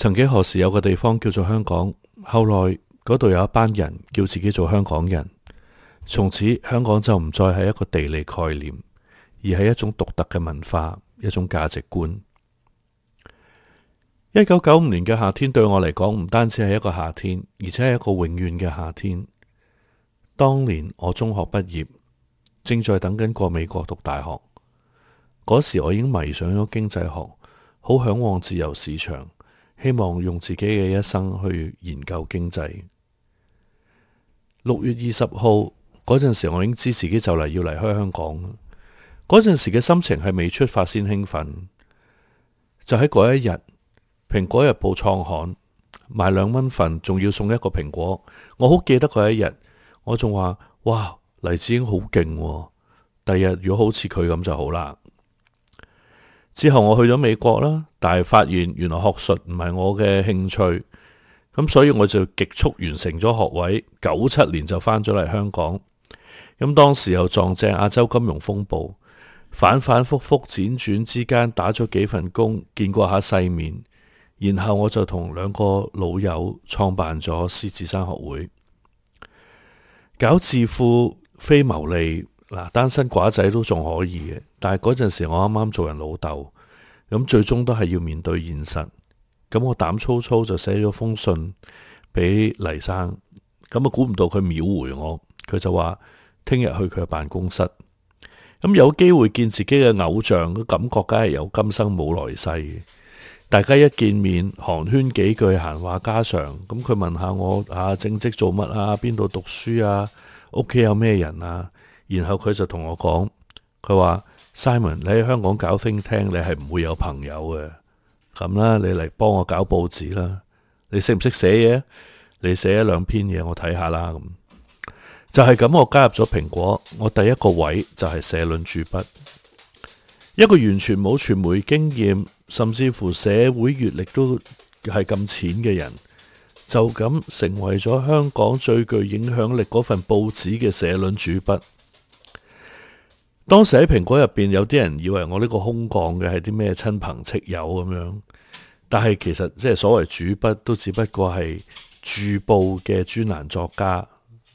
曾幾何時有個地方叫做香港，後來嗰度有一班人叫自己做香港人，從此香港就唔再係一個地理概念，而係一種獨特嘅文化，一種價值觀。1995年嘅夏天對我嚟講唔單止係一個夏天，而且係一個永遠嘅夏天。當年我中學畢業，正在等緊過美國讀大學。嗰時我已經迷上咗經濟學，好向往自由市場，希望用自己嘅一生去研究經濟。6月20號嗰陣時，我已經知自己就嚟要離開香港。嗰陣時嘅心情係未出發先興奮。就喺嗰一日，蘋果日報創刊，賣2蚊份，仲要送一個蘋果。我好記得嗰一日，我仲話：哇，黎智英好勁喎，第日如果好似佢咁就好啦。之後我去咗美國啦，但係發現原來學術唔係我嘅興趣，咁所以我就極速完成咗學位，97年就返咗嚟香港。咁當時又撞正亞洲金融風暴，反反复复輾轉之間打咗幾份工，見過下世面。然後我就同2個老友創辦咗獅子山學會，搞智庫非牟利，單身寡仔都仲可以嘅。但係嗰陣時我啱啱做人老豆，咁最終都係要面對現實。咁我膽粗粗就寫咗封信俾黎生，咁估唔到佢秒回我，佢就話聽日去佢嘅辦公室。咁有機會見自己嘅偶像，個感覺梗係有今生冇來世嘅。大家一見面寒暄幾句，閒話家常。咁佢問下我正職做乜啊，邊度讀書啊，屋企有咩人啊。然後佢就同我講，佢話 Simon， 你喺香港搞think tank，你係唔會有朋友嘅。咁啦，你嚟幫我搞報紙啦。你識唔識寫嘢？你寫1-2篇嘢我睇下啦。咁就係咁，我加入咗蘋果。我第一個位就係社論主筆。一個完全冇傳媒經驗，甚至乎社會閱歷都係咁淺嘅人，就咁成為咗香港最具影響力嗰份報紙嘅社論主筆。當時喺蘋果入邊，有啲人以為我呢個空降嘅係啲咩親朋戚友咁樣，但係其實即係所謂主筆都只不過係駐報嘅專欄作家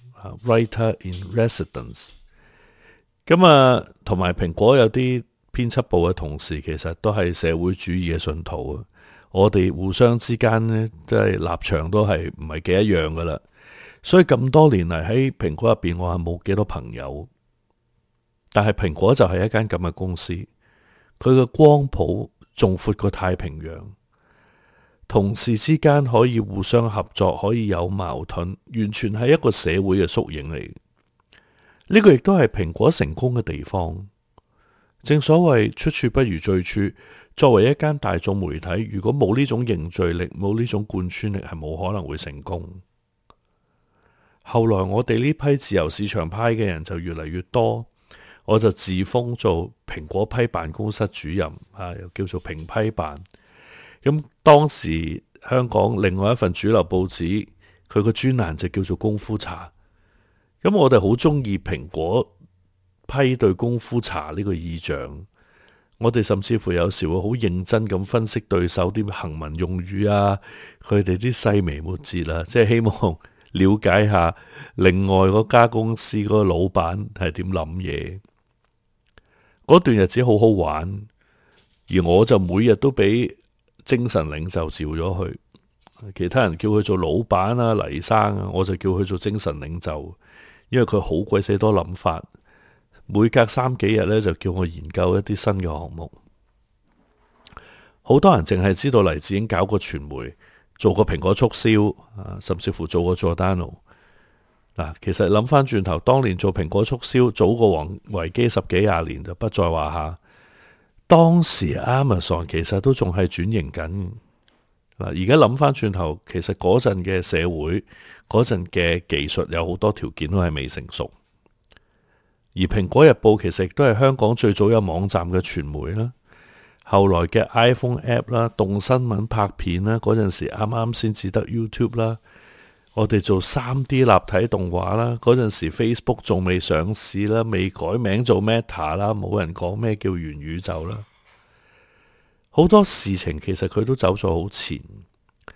，writer in residence。咁同埋蘋果有啲編輯部嘅同事其實都係社會主義嘅信徒啊！我哋互相之間呢，即係立場都係唔係幾一樣噶啦。所以咁多年嚟喺蘋果入邊，我係冇幾多朋友。但係蘋果就係一間咁嘅公司，佢嘅光譜仲闊過太平洋，同事之間可以互相合作，可以有矛盾，完全係一個社會嘅縮影嚟。呢個亦都係蘋果成功嘅地方。正所謂出處不如最初，作為一間大眾媒體，如果冇呢種凝聚力，冇呢種貫穿力，係冇可能會成功。後來我哋呢批自由市場派嘅人就越嚟越多，我就自封做蘋果批辦公室主任，又叫做蘋批辦。咁當時香港另外一份主流報紙，佢個專欄就叫做功夫茶。咁我哋好中意蘋果批對功夫茶呢個意象，我哋甚至乎有時會好認真咁分析對手啲行文用語啊，佢哋啲細微末節啊，即係希望了解下另外嗰家公司嗰個老闆係點諗嘢。嗰段日子好好玩，而我就每日都俾精神領袖召咗去，其他人叫佢做老闆啊、黎生啊，我就叫佢做精神領袖，因為佢好鬼死多諗法。每隔3幾日呢，就叫我研究一啲新嘅項目。好多人淨係知道黎智英搞過傳媒，做過蘋果促銷，甚至乎做過 Giordano。其實諗翻轉頭，當年做蘋果促銷早過王維基10幾20年就不在話下。當時 Amazon 其實都仲係轉型緊。而家諗翻轉頭，其實嗰陣嘅社會，嗰陣嘅技術有好多條件都係未成熟。而蘋果日報其實亦都係香港最早有網站嘅傳媒啦，後來嘅 iPhone App 啦、動新聞拍片啦，嗰陣時啱啱先至得 YouTube 啦，我哋做 3D 立體動畫啦，嗰陣時 Facebook 仲未上市啦，未改名做 Meta 啦，冇人講咩叫元宇宙啦，好多事情其實佢都走咗好前，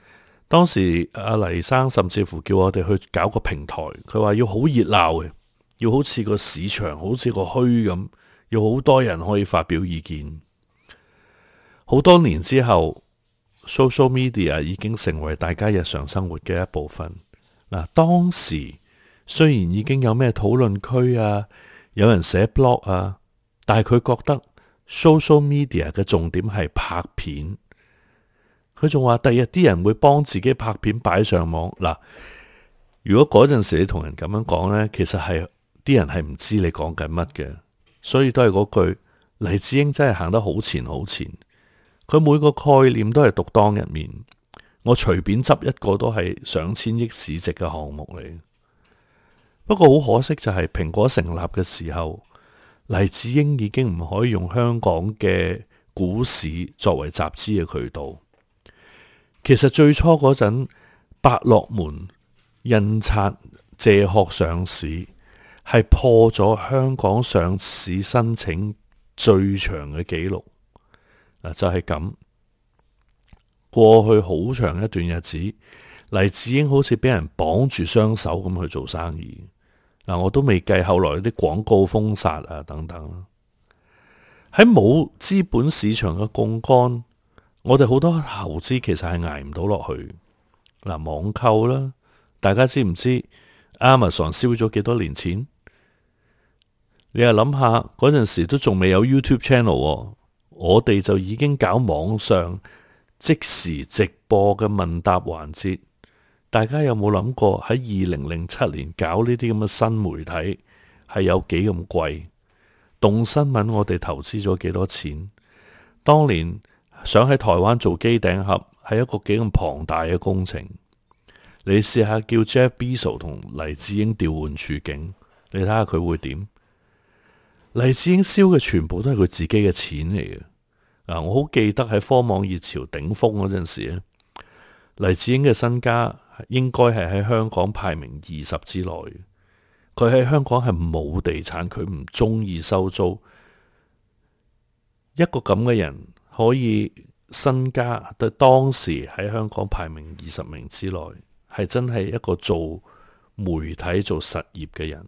當時阿黎生甚至乎叫我哋去搞個平台，佢話要好熱鬧嘅，要好似個市場，好似個墟咁，要好多人可以發表意見。好多年之後，social media 已經成為大家日常生活嘅一部分。嗱，當時雖然已經有咩討論區啊，有人寫 blog 啊，但係佢覺得 social media 嘅重點係拍片。佢仲話第日啲人會幫自己拍片擺上網。嗱，如果嗰陣時你同人咁樣講呢，其實係啲人係唔知你講緊乜嘅。所以都係嗰句，黎智英真係行得好前好前。佢每個概念都係獨當一面，我隨便執一個都係上千億市值嘅項目嚟。不過好可惜就係蘋果成立嘅時候，黎智英已經唔可以用香港嘅股市作為集資嘅渠道。其實最初嗰陣，百樂門印刷借殼上市係破咗香港上市申請最長嘅紀錄。就係咁。過去好長一段日子，黎智英好似俾人綁住雙手咁去做生意。我都未計後來啲廣告封殺啊等等。喺冇資本市場嘅槓桿，我哋好多投資其實係捱唔到落去。網購啦，大家知唔知 Amazon 燒咗幾多年錢？你又諗下嗰陣時都仲未有 YouTube channel，我哋就已經搞網上即時直播嘅問答環節。大家有冇諗過喺2007年搞呢啲咁嘅新媒體係有幾咁貴？動新聞我哋投資咗幾多錢？當年想喺台灣做機頂盒係一個幾咁龐大嘅工程。你試下叫 Jeff Bezos 同黎智英調換處境，你睇下佢會點？黎智英燒嘅全部都係佢自己嘅錢嚟嘅。我好記得喺科網熱潮頂峰嗰陣時咧，黎智英嘅身家應該係喺香港排名20之內。佢喺香港係冇地產，佢唔中意收租。一個咁嘅人可以身家對當時喺香港排名20名之內，係真係一個做媒體做實業嘅人。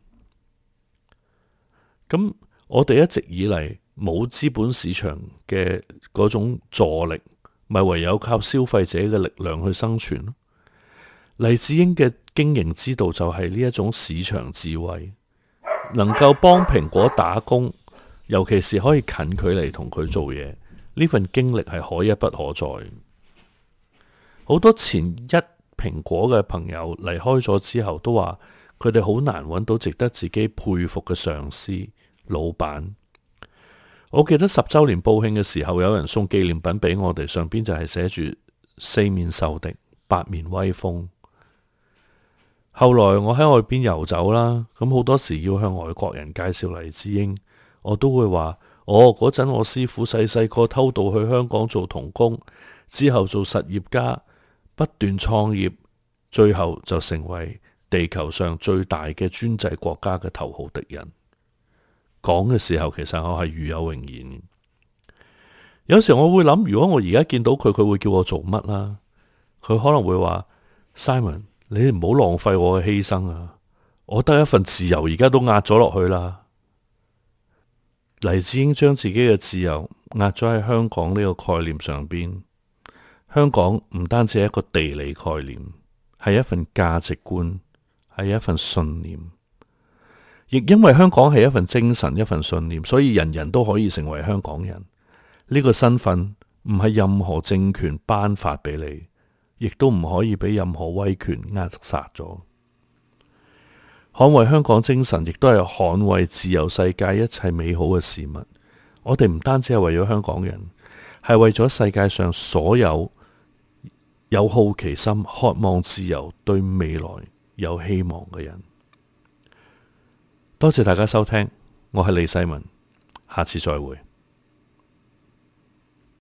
咁我哋一直以嚟冇資本市場嘅嗰種助力，咪唯有靠消費者嘅力量去生存咯。黎智英嘅經營之道就係呢一種市場智慧，能夠幫蘋果打工，尤其是可以近距離同佢做嘢，呢份經歷係可一不可再。好多前一蘋果嘅朋友離開咗之後，都話佢哋好難揾到值得自己佩服嘅上司、老闆。我記得10週年報慶嘅時候，有人送紀念品俾我哋，上邊就係寫住4面受敵，8面威風。後來我喺外邊遊走啦，咁好多時要向外國人介紹黎智英，我都會話：嗰陣我師父細細個偷渡去香港做童工，之後做實業家，不斷創業，最後就成為地球上最大嘅專制國家嘅頭號敵人。講嘅時候，其實我係與有榮焉。有時我會諗，如果我而家見到佢，佢會叫我做乜啦？佢可能會話：Simon，你唔好浪費我嘅犧牲啊！我得一份自由，而家都壓咗落去啦。黎智英將自己嘅自由壓咗喺香港呢個概念上邊。香港唔單止係一個地理概念，係一份價值觀，係一份信念。亦因為香港係一份精神，一份信念，所以人人都可以成為香港人。呢個身份唔係任何政權頒發俾你，亦都唔可以俾任何威權扼殺咗。捍衛香港精神，亦都係捍衛自由世界一切美好嘅事物。我哋唔單止係為咗香港人，係為咗世界上所有有好奇心、渴望自由、對未來有希望嘅人。多謝大家收聽，我係李世民，下次再會。